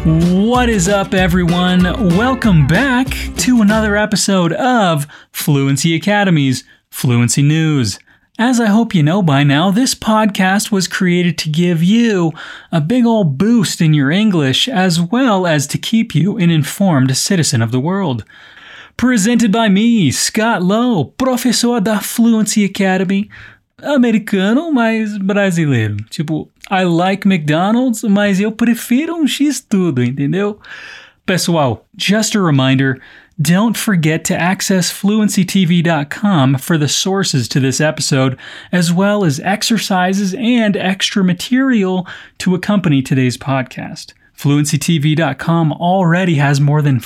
What is up, everyone? Welcome back to another episode of Fluency Academy's Fluency News. As I hope you know by now, this podcast was created to give you a big old boost in your English, as well as to keep you an informed citizen of the world. Presented by me, Scott Lowe, professor da Fluency Academy, americano, mas brasileiro. Tipo, I like McDonald's, mas eu prefiro X-tudo, entendeu? Pessoal, just a reminder, don't forget to access FluencyTV.com for the sources to this episode, as well as exercises and extra material to accompany today's podcast. FluencyTV.com already has more than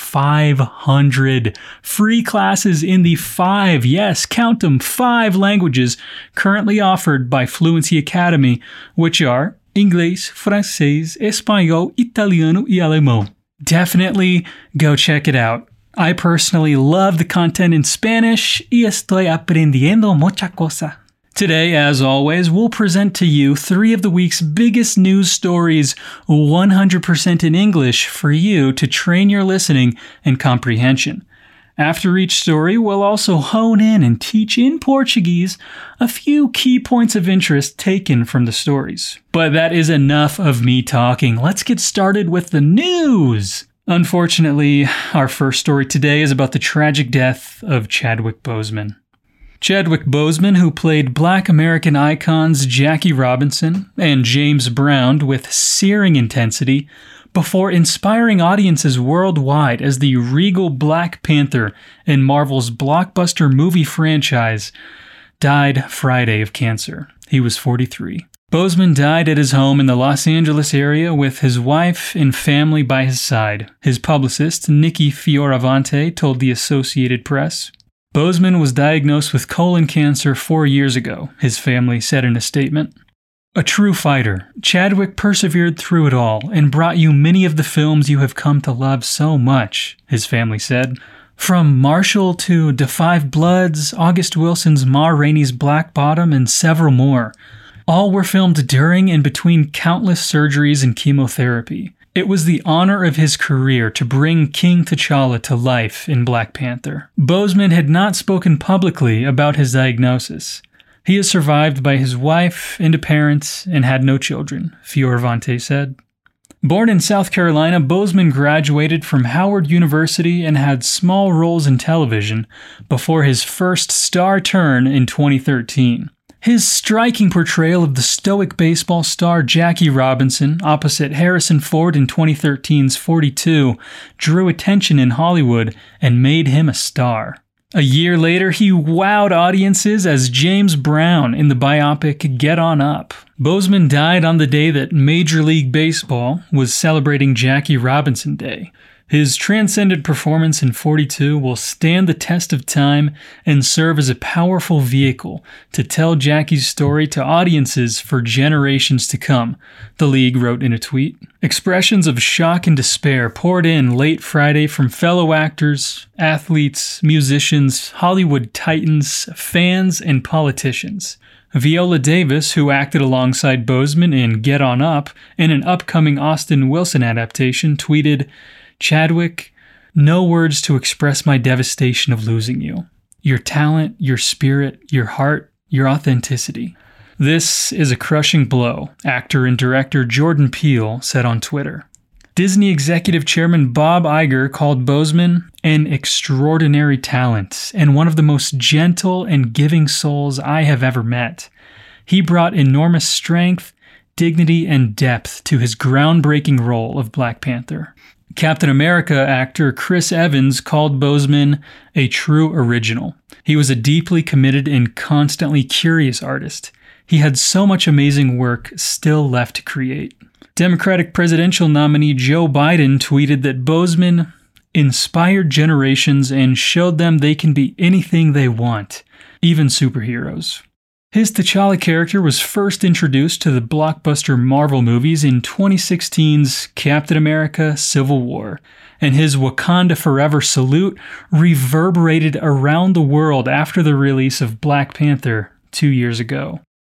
500 free classes in the 5 languages currently offered by Fluency Academy, which are Inglês, Francês, Espanhol, Italiano e Alemão. Definitely go check it out. I personally love the content in Spanish y estoy aprendiendo mucha cosa. Today, as always, we'll present to you 3 of the week's biggest news stories 100% in English for you to train your listening and comprehension. After each story, we'll also hone in and teach in Portuguese a few key points of interest taken from the stories. But that is enough of me talking. Let's get started with the news! Unfortunately, our first story today is about the tragic death of Chadwick Boseman. Chadwick Boseman, who played Black American icons Jackie Robinson and James Brown with searing intensity before inspiring audiences worldwide as the regal Black Panther in Marvel's blockbuster movie franchise, died Friday of cancer. He was 43. Boseman died at his home in the Los Angeles area with his wife and family by his side. His publicist, Nikki Fioravanti, told the Associated Press. Boseman was diagnosed with colon cancer 4 years ago, his family said in a statement. A true fighter, Chadwick persevered through it all and brought you many of the films you have come to love so much, his family said. From Marshall to Da 5 Bloods, August Wilson's Ma Rainey's Black Bottom, and several more. All were filmed during and between countless surgeries and chemotherapy. It was the honor of his career to bring King T'Challa to life in Black Panther. Boseman had not spoken publicly about his diagnosis. He is survived by his wife and a parent and had no children, Fioravanti said. Born in South Carolina, Boseman graduated from Howard University and had small roles in television before his first star turn in 2013. His striking portrayal of the stoic baseball star Jackie Robinson opposite Harrison Ford in 2013's 42 drew attention in Hollywood and made him a star. A year later, he wowed audiences as James Brown in the biopic Get On Up. Boseman died on the day that Major League Baseball was celebrating Jackie Robinson Day. His transcendent performance in 42 will stand the test of time and serve as a powerful vehicle to tell Jackie's story to audiences for generations to come, the league wrote in a tweet. Expressions of shock and despair poured in late Friday from fellow actors, athletes, musicians, Hollywood titans, fans, and politicians. Viola Davis, who acted alongside Boseman in Get On Up and an upcoming Austin Wilson adaptation, tweeted, Chadwick, no words to express my devastation of losing you. Your talent, your spirit, your heart, your authenticity. This is a crushing blow, actor and director Jordan Peele said on Twitter. Disney executive chairman Bob Iger called Boseman an extraordinary talent and one of the most gentle and giving souls I have ever met. He brought enormous strength, dignity, and depth to his groundbreaking role of Black Panther. Captain America actor Chris Evans called Boseman a true original. He was a deeply committed and constantly curious artist. He had so much amazing work still left to create. Democratic presidential nominee Joe Biden tweeted that Boseman inspired generations and showed them they can be anything they want, even superheroes. His T'Challa character was first introduced to the blockbuster Marvel movies in 2016's Captain America: Civil War, and his Wakanda Forever salute reverberated around the world after the release of Black Panther 2 years ago.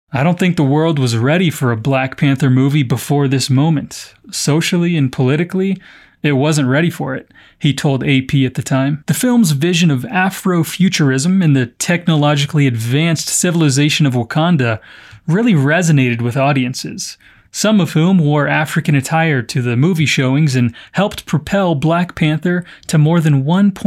I don't think the world was ready for a Black Panther movie before this moment. Socially and politically, it wasn't ready for it, he told AP at the time. The film's vision of Afrofuturism and the technologically advanced civilization of Wakanda really resonated with audiences, some of whom wore African attire to the movie showings and helped propel Black Panther to more than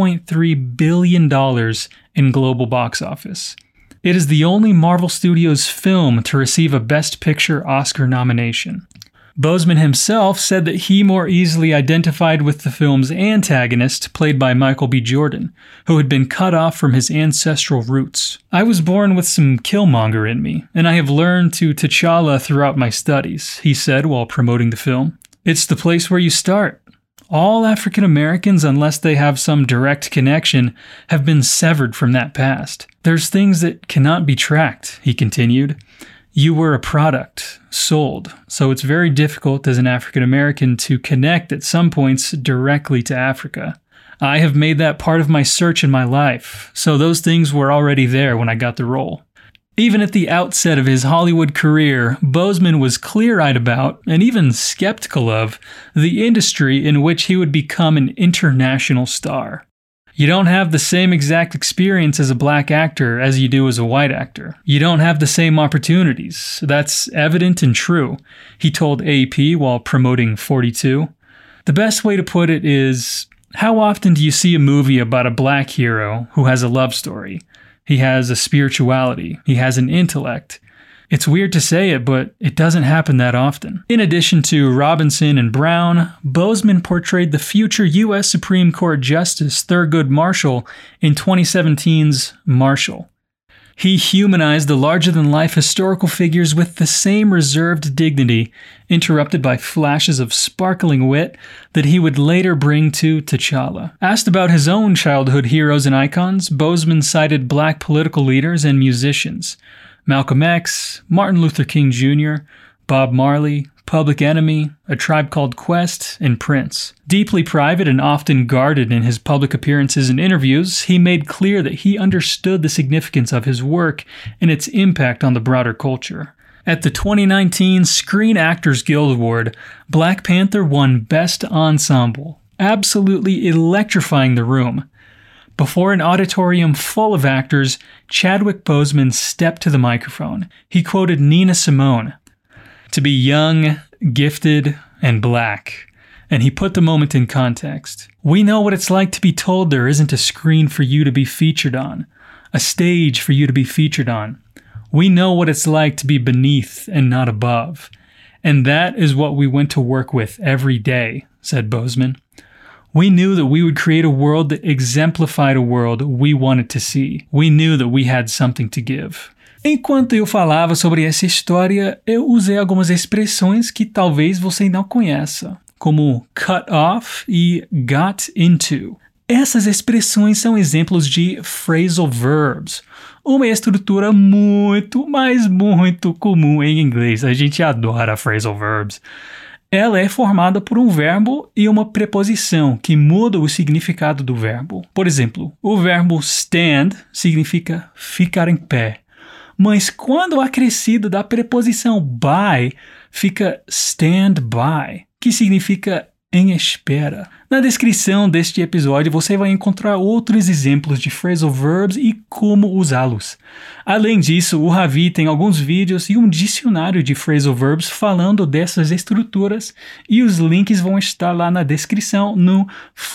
$1.3 billion in global box office. It is the only Marvel Studios film to receive a Best Picture Oscar nomination. Boseman himself said that he more easily identified with the film's antagonist, played by Michael B. Jordan, who had been cut off from his ancestral roots. I was born with some Killmonger in me, and I have learned to T'Challa throughout my studies, he said while promoting the film. It's the place where you start. All African Americans, unless they have some direct connection, have been severed from that past. There's things that cannot be tracked, he continued. You were a product, sold, so it's very difficult as an African American to connect at some points directly to Africa. I have made that part of my search in my life, so those things were already there when I got the role. Even at the outset of his Hollywood career, Boseman was clear-eyed about, and even skeptical of, the industry in which he would become an international star. You don't have the same exact experience as a black actor as you do as a white actor. You don't have the same opportunities. That's evident and true, he told AP while promoting 42. The best way to put it is, how often do you see a movie about a black hero who has a love story? He has a spirituality. He has an intellect. It's weird to say it, but it doesn't happen that often. In addition to Robinson and Brown, Boseman portrayed the future U.S. Supreme Court Justice Thurgood Marshall in 2017's Marshall. He humanized the larger-than-life historical figures with the same reserved dignity, interrupted by flashes of sparkling wit that he would later bring to T'Challa. Asked about his own childhood heroes and icons, Boseman cited black political leaders and musicians: Malcolm X, Martin Luther King Jr., Bob Marley, Public Enemy, A Tribe Called Quest, and Prince. Deeply private and often guarded in his public appearances and interviews, he made clear that he understood the significance of his work and its impact on the broader culture. At the 2019 Screen Actors Guild Award, Black Panther won Best Ensemble, absolutely electrifying the room. Before an auditorium full of actors, Chadwick Boseman stepped to the microphone. He quoted Nina Simone, "To be young, gifted, and black." And he put the moment in context. We know what it's like to be told there isn't a screen for you to be featured on, a stage for you to be featured on. We know what it's like to be beneath and not above. And that is what we went to work with every day, said Boseman. We knew that we would create a world that exemplified a world we wanted to see. We knew that we had something to give. Enquanto eu falava sobre essa história, eu usei algumas expressões que talvez você não conheça, como cut off e got into. Essas expressões são exemplos de phrasal verbs, uma estrutura muito, mas muito comum em inglês. A gente adora phrasal verbs. Ela é formada por um verbo e uma preposição que muda o significado do verbo. Por exemplo, o verbo stand significa ficar em pé, mas quando acrescido da preposição by, fica stand by, que significa em espera. Na descrição deste episódio você vai encontrar outros exemplos de phrasal verbs e como usá-los. Além disso, o Ravi tem alguns vídeos e um dicionário de phrasal verbs falando dessas estruturas e os links vão estar lá na descrição no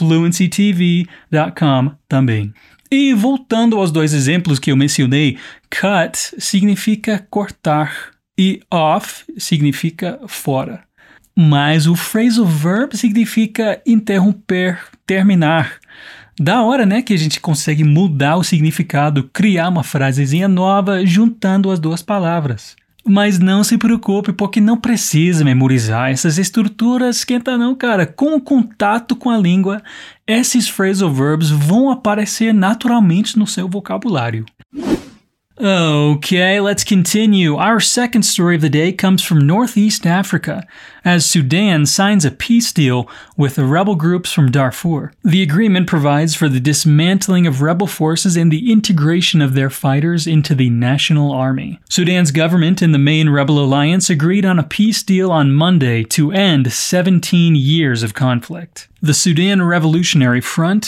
fluencytv.com também. E voltando aos dois exemplos que eu mencionei, cut significa cortar e off significa fora. Mas o phrasal verb significa interromper, terminar. Da hora, né, que a gente consegue mudar o significado, criar uma frasezinha nova juntando as duas palavras. Mas não se preocupe, porque não precisa memorizar essas estruturas, esquenta não, cara. Com o contato com a língua, esses phrasal verbs vão aparecer naturalmente no seu vocabulário. Okay, let's continue. Our second story of the day comes from Northeast Africa, as Sudan signs a peace deal with the rebel groups from Darfur. The agreement provides for the dismantling of rebel forces and the integration of their fighters into the national army. Sudan's government and the main rebel alliance agreed on a peace deal on Monday to end 17 years of conflict. The Sudan Revolutionary Front,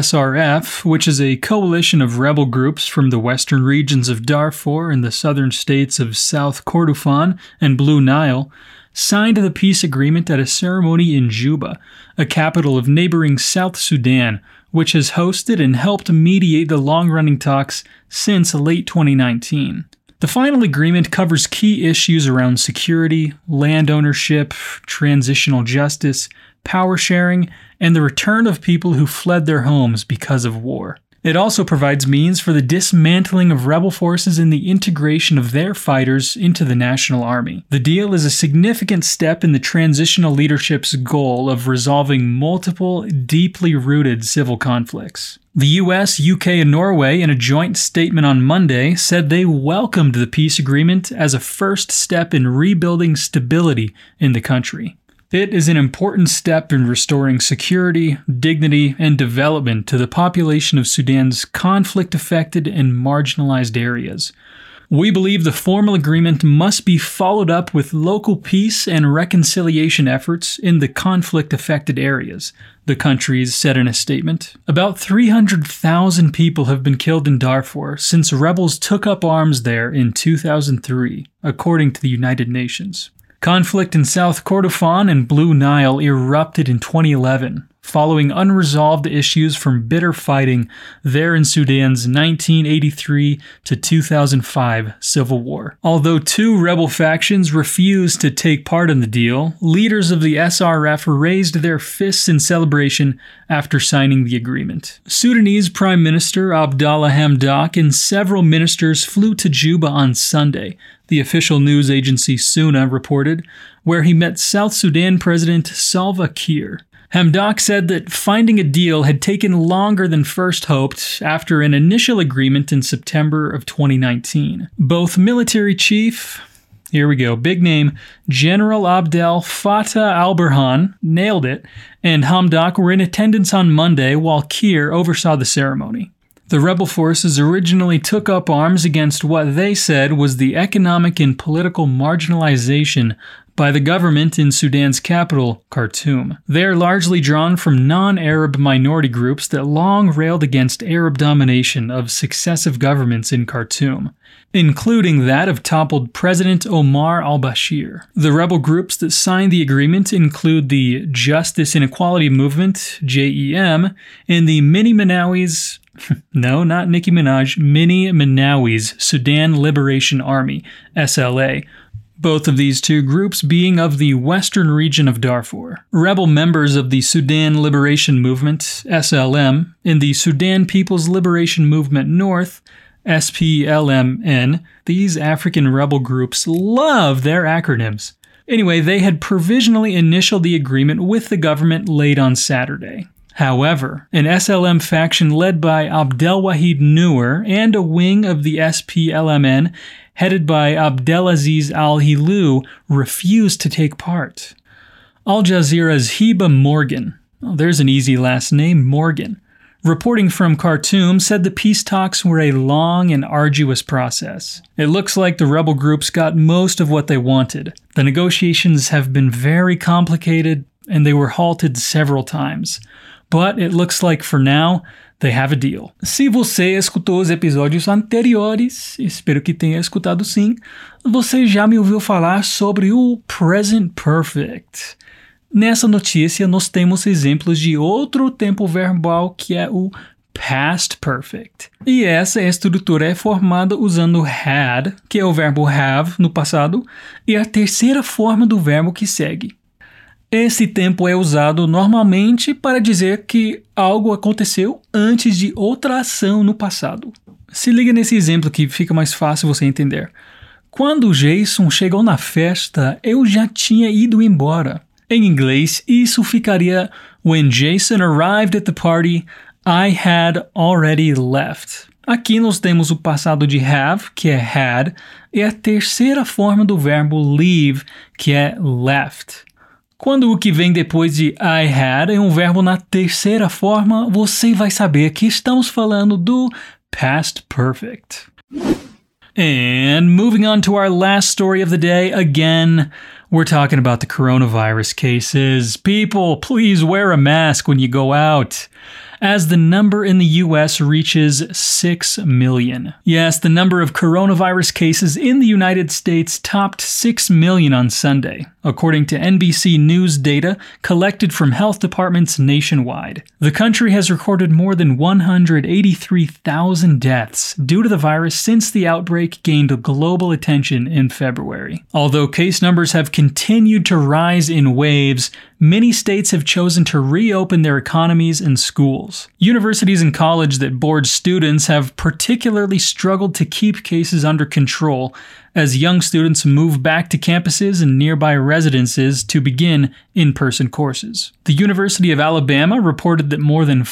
SRF, which is a coalition of rebel groups from the western regions of Darfur and the southern states of South Kordofan and Blue Nile, signed the peace agreement at a ceremony in Juba, a capital of neighboring South Sudan, which has hosted and helped mediate the long-running talks since late 2019. The final agreement covers key issues around security, land ownership, transitional justice, power sharing, and the return of people who fled their homes because of war. It also provides means for the dismantling of rebel forces and the integration of their fighters into the national army. The deal is a significant step in the transitional leadership's goal of resolving multiple, deeply rooted civil conflicts. The US, UK, and Norway, in a joint statement on Monday, said they welcomed the peace agreement as a first step in rebuilding stability in the country. It is an important step in restoring security, dignity, and development to the population of Sudan's conflict-affected and marginalized areas. We believe the formal agreement must be followed up with local peace and reconciliation efforts in the conflict-affected areas, the countries said in a statement. About 300,000 people have been killed in Darfur since rebels took up arms there in 2003, according to the United Nations. Conflict in South Kordofan and Blue Nile erupted in 2011, following unresolved issues from bitter fighting there in Sudan's 1983 to 2005 civil war. Although two rebel factions refused to take part in the deal, leaders of the SRF raised their fists in celebration after signing the agreement. Sudanese Prime Minister Abdallah Hamdok and several ministers flew to Juba on Sunday, the official news agency SUNA reported, where he met South Sudan President Salva Kiir. Hamdok said that finding a deal had taken longer than first hoped after an initial agreement in September of 2019. Both military chief, here we go, big name, General Abdel Fattah al-Burhan nailed it, and Hamdok were in attendance on Monday while Kiir oversaw the ceremony. The rebel forces originally took up arms against what they said was the economic and political marginalization by the government in Sudan's capital, Khartoum. They are largely drawn from non-Arab minority groups that long railed against Arab domination of successive governments in Khartoum, including that of toppled President Omar al-Bashir. The rebel groups that signed the agreement include the Justice and Equality Movement, JEM, and the Mini Minawis, no, not Nicki Minaj, Mini Minawis Sudan Liberation Army, SLA, both of these two groups being of the western region of Darfur. Rebel members of the Sudan Liberation Movement, SLM, and the Sudan People's Liberation Movement North, SPLMN, these African rebel groups love their acronyms. Anyway, they had provisionally initialed the agreement with the government late on Saturday. However, an SLM faction led by Abdelwahid Noor and a wing of the SPLMN headed by Abdelaziz al-Hilu refused to take part. Al Jazeera's Heba Morgan, there's an easy last name, Morgan, reporting from Khartoum, said the peace talks were a long and arduous process. It looks like the rebel groups got most of what they wanted. The negotiations have been very complicated and they were halted several times. But it looks like for now, they have a deal. Se você escutou os episódios anteriores, espero que tenha escutado sim, você já me ouviu falar sobre o Present Perfect. Nessa notícia, nós temos exemplos de outro tempo verbal que é o Past Perfect. E essa estrutura é formada usando had, que é o verbo have no passado, e a terceira forma do verbo que segue. Esse tempo é usado normalmente para dizer que algo aconteceu antes de outra ação no passado. Se liga nesse exemplo que fica mais fácil você entender. Quando o Jason chegou na festa, eu já tinha ido embora. Em inglês, isso ficaria When Jason arrived at the party, I had already left. Aqui nós temos o passado de have, que é had, e a terceira forma do verbo leave, que é left. Quando o que vem depois de I had é um verbo na terceira forma, você vai saber que estamos falando do past perfect. And moving on to our last story of the day, again, we're talking about the coronavirus cases. People, please wear a mask when you go out, as the number in the US reaches 6 million. Yes, the number of coronavirus cases in the United States topped 6 million on Sunday, according to NBC News data collected from health departments nationwide. The country has recorded more than 183,000 deaths due to the virus since the outbreak gained global attention in February. Although case numbers have continued to rise in waves, many states have chosen to reopen their economies and schools. Universities and colleges that board students have particularly struggled to keep cases under control as young students move back to campuses and nearby residences to begin in-person courses. The University of Alabama reported that more than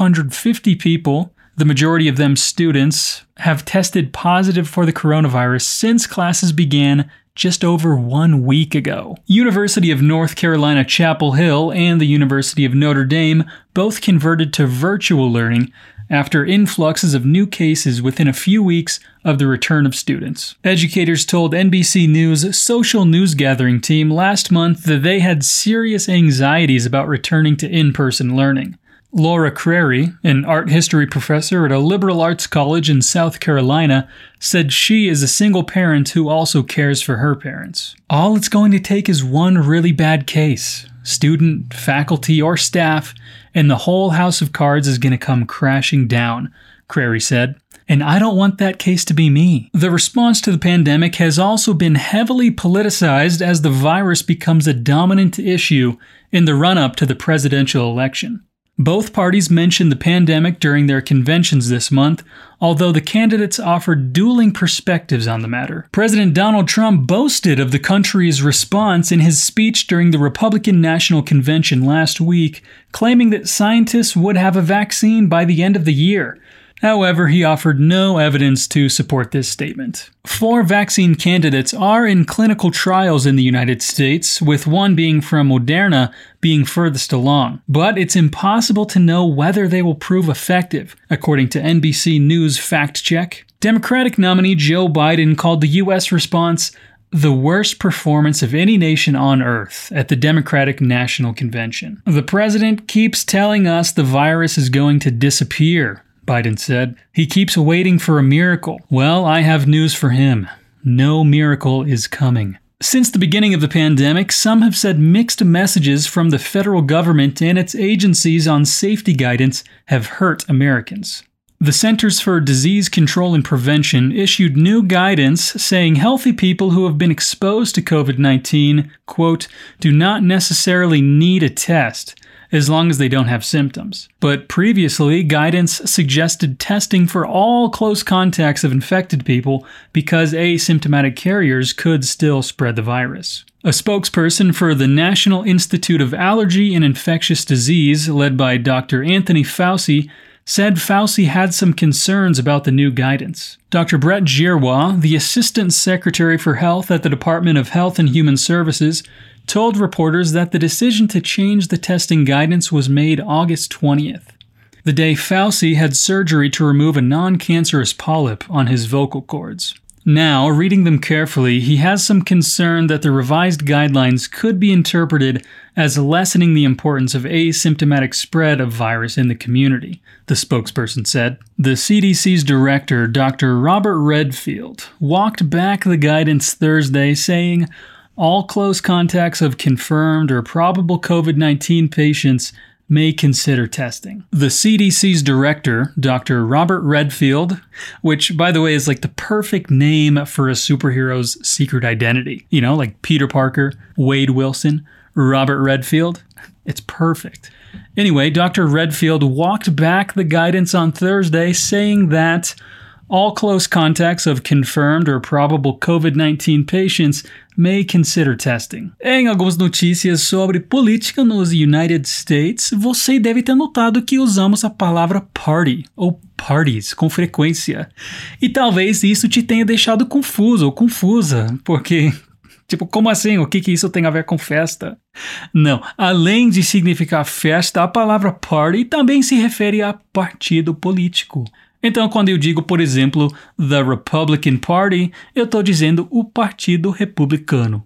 550 people, the majority of them students, have tested positive for the coronavirus since classes began just over 1 week ago. University of North Carolina Chapel Hill and the University of Notre Dame both converted to virtual learning after influxes of new cases within a few weeks of the return of students. Educators told NBC News' social news gathering team last month that they had serious anxieties about returning to in-person learning. Laura Crary, an art history professor at a liberal arts college in South Carolina, said she is a single parent who also cares for her parents. All it's going to take is one really bad case. Student, faculty, or staff, and the whole house of cards is going to come crashing down, Crary said. And I don't want that case to be me. The response to the pandemic has also been heavily politicized as the virus becomes a dominant issue in the run-up to the presidential election. Both parties mentioned the pandemic during their conventions this month, although the candidates offered dueling perspectives on the matter. President Donald Trump boasted of the country's response in his speech during the Republican National Convention last week, claiming that scientists would have a vaccine by the end of the year. However, he offered no evidence to support this statement. 4 vaccine candidates are in clinical trials in the United States, with one being from Moderna being furthest along. But it's impossible to know whether they will prove effective, according to NBC News Fact Check. Democratic nominee Joe Biden called the U.S. response the worst performance of any nation on earth at the Democratic National Convention. The president keeps telling us the virus is going to disappear, Biden said. He keeps waiting for a miracle. Well, I have news for him. No miracle is coming. Since the beginning of the pandemic, some have said mixed messages from the federal government and its agencies on safety guidance have hurt Americans. The Centers for Disease Control and Prevention issued new guidance saying healthy people who have been exposed to COVID-19, quote, do not necessarily need a test, as long as they don't have symptoms. But previously, guidance suggested testing for all close contacts of infected people because asymptomatic carriers could still spread the virus. A spokesperson for the National Institute of Allergy and Infectious Disease, led by Dr. Anthony Fauci, said Fauci had some concerns about the new guidance. Dr. Brett Giroir, the Assistant Secretary for Health at the Department of Health and Human Services, told reporters that the decision to change the testing guidance was made August 20th, the day Fauci had surgery to remove a non-cancerous polyp on his vocal cords. Now, reading them carefully, he has some concern that the revised guidelines could be interpreted as lessening the importance of asymptomatic spread of virus in the community, the spokesperson said. The CDC's director, Dr. Robert Redfield, walked back the guidance Thursday, saying, all close contacts of confirmed or probable COVID-19 patients may consider testing. The CDC's director, Dr. Robert Redfield, which, by the way, is like the perfect name for a superhero's secret identity. You know, like Peter Parker, Wade Wilson, Robert Redfield. It's perfect. Anyway, Dr. Redfield walked back the guidance on Thursday, saying that All close contacts of confirmed or probable COVID-19 patients may consider testing. Em algumas notícias sobre política nos United States, você deve ter notado que usamos a palavra party ou parties com frequência. E talvez isso te tenha deixado confuso ou confusa, porque... Tipo, como assim? O que isso tem a ver com festa? Não, além de significar festa, a palavra party também se refere a partido político. Então, quando eu digo, por exemplo, the Republican Party, eu estou dizendo o Partido Republicano.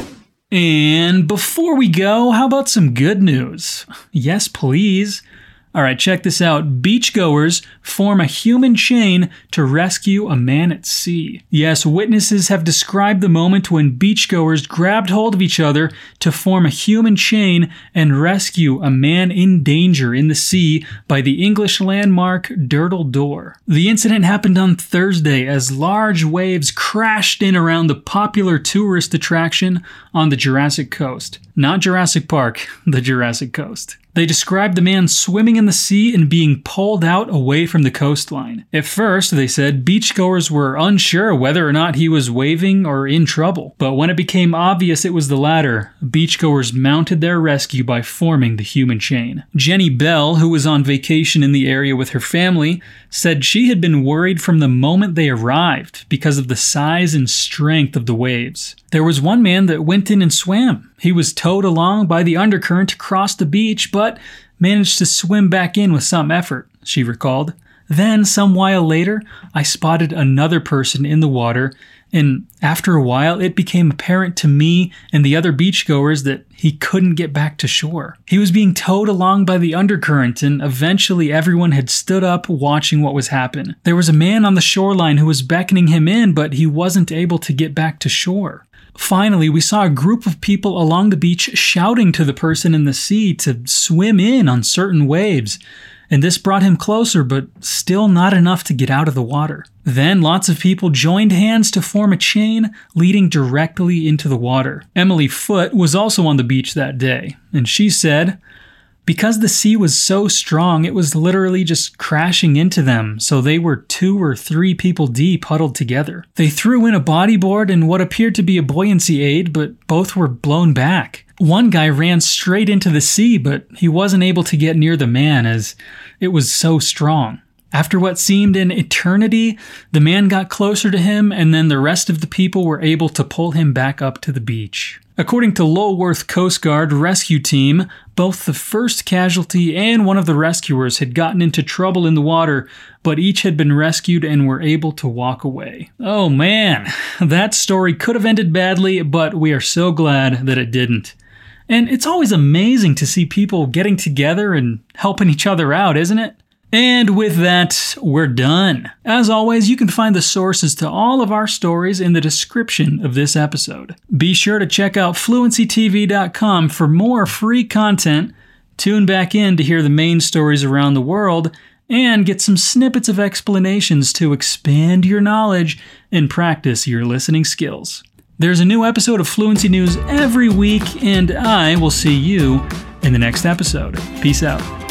And before we go, how about some good news? Yes, please. Alright, check this out. Beachgoers form a human chain to rescue a man at sea. Yes, witnesses have described the moment when beachgoers grabbed hold of each other to form a human chain and rescue a man in danger in the sea by the English landmark Durdle Door. The incident happened on Thursday as large waves crashed in around the popular tourist attraction on the Jurassic Coast. Not Jurassic Park, the Jurassic Coast. They described the man swimming in the sea and being pulled out away from the coastline. At first, they said, beachgoers were unsure whether or not he was waving or in trouble. But when it became obvious it was the latter, beachgoers mounted their rescue by forming the human chain. Jenny Bell, who was on vacation in the area with her family, said she had been worried from the moment they arrived because of the size and strength of the waves. There was one man that went in and swam. He was towed along by the undercurrent across the beach, but managed to swim back in with some effort, she recalled. Then, some while later, I spotted another person in the water, and after a while it became apparent to me and the other beachgoers that he couldn't get back to shore. He was being towed along by the undercurrent, and eventually everyone had stood up watching what was happening. There was a man on the shoreline who was beckoning him in, but he wasn't able to get back to shore. Finally, we saw a group of people along the beach shouting to the person in the sea to swim in on certain waves, and this brought him closer, but still not enough to get out of the water. Then lots of people joined hands to form a chain leading directly into the water. Emily Foote was also on the beach that day, and she said, because the sea was so strong, it was literally just crashing into them, so they were 2 or 3 people deep huddled together. They threw in a bodyboard and what appeared to be a buoyancy aid, but both were blown back. One guy ran straight into the sea, but he wasn't able to get near the man as it was so strong. After what seemed an eternity, the man got closer to him, and then the rest of the people were able to pull him back up to the beach. According to Lulworth Coast Guard rescue team, both the first casualty and one of the rescuers had gotten into trouble in the water, but each had been rescued and were able to walk away. Oh man, that story could have ended badly, but we are so glad that it didn't. And it's always amazing to see people getting together and helping each other out, isn't it? And with that, we're done. As always, you can find the sources to all of our stories in the description of this episode. Be sure to check out fluencytv.com for more free content, tune back in to hear the main stories around the world, and get some snippets of explanations to expand your knowledge and practice your listening skills. There's a new episode of Fluency News every week, and I will see you in the next episode. Peace out.